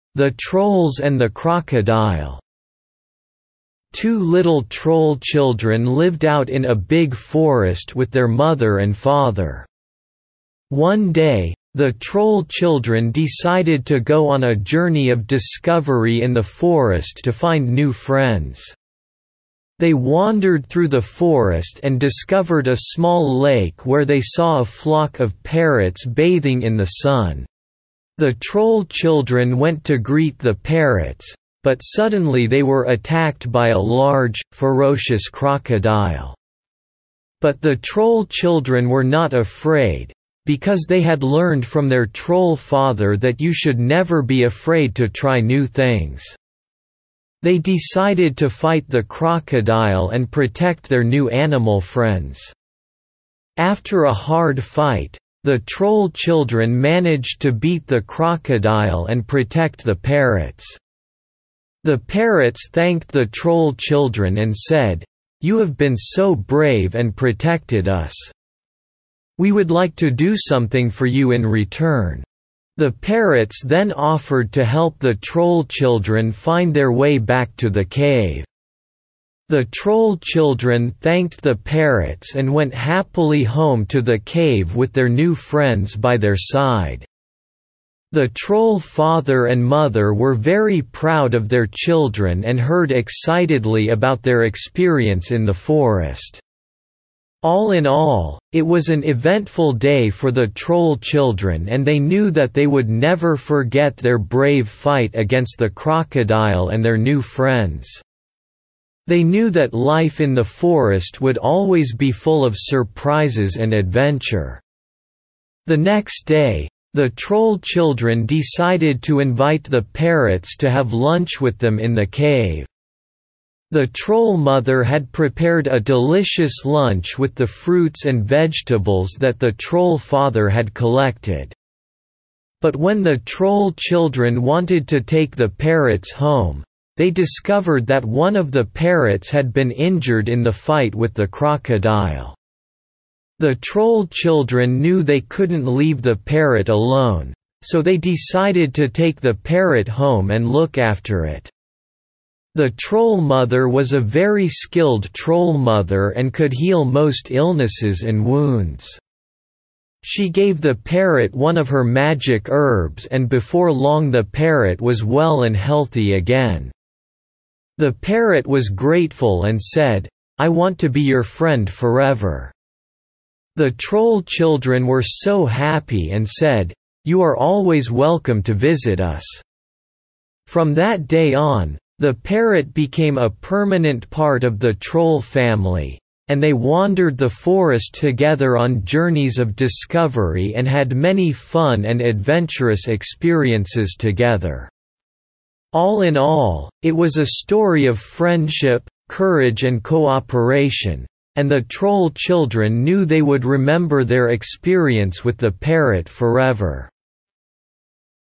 The Trolls and the Crocodile. Two little troll children lived out in a big forest with their mother and father. One day, the troll children decided to go on a journey of discovery in the forest to find new friends. They wandered through the forest and discovered a small lake where they saw a flock of parrots bathing in the sun. The troll children went to greet the parrots, but suddenly they were attacked by a large, ferocious crocodile. But the troll children were not afraid, because they had learned from their troll father that you should never be afraid to try new things. They decided to fight the crocodile and protect their new animal friends. After a hard fight, the troll children managed to beat the crocodile and protect the parrots. The parrots thanked the troll children and said, "You have been so brave and protected us. We would like to do something for you in return." The parrots then offered to help the troll children find their way back to the cave. The troll children thanked the parrots and went happily home to the cave with their new friends by their side. The troll father and mother were very proud of their children and heard excitedly about their experience in the forest. All in all, it was an eventful day for the troll children, and they knew that they would never forget their brave fight against the crocodile and their new friends. They knew that life in the forest would always be full of surprises and adventure. The next day, the troll children decided to invite the parrots to have lunch with them in the cave. The troll mother had prepared a delicious lunch with the fruits and vegetables that the troll father had collected. But when the troll children wanted to take the parrots home, they discovered that one of the parrots had been injured in the fight with the crocodile. The troll children knew they couldn't leave the parrot alone, so they decided to take the parrot home and look after it. The troll mother was a very skilled troll mother and could heal most illnesses and wounds. She gave the parrot one of her magic herbs, and before long the parrot was well and healthy again. The parrot was grateful and said, "I want to be your friend forever." The troll children were so happy and said, "You are always welcome to visit us." From that day on, the parrot became a permanent part of the troll family, and they wandered the forest together on journeys of discovery and had many fun and adventurous experiences together. All in all, it was a story of friendship, courage and cooperation, and the troll children knew they would remember their experience with the parrot forever.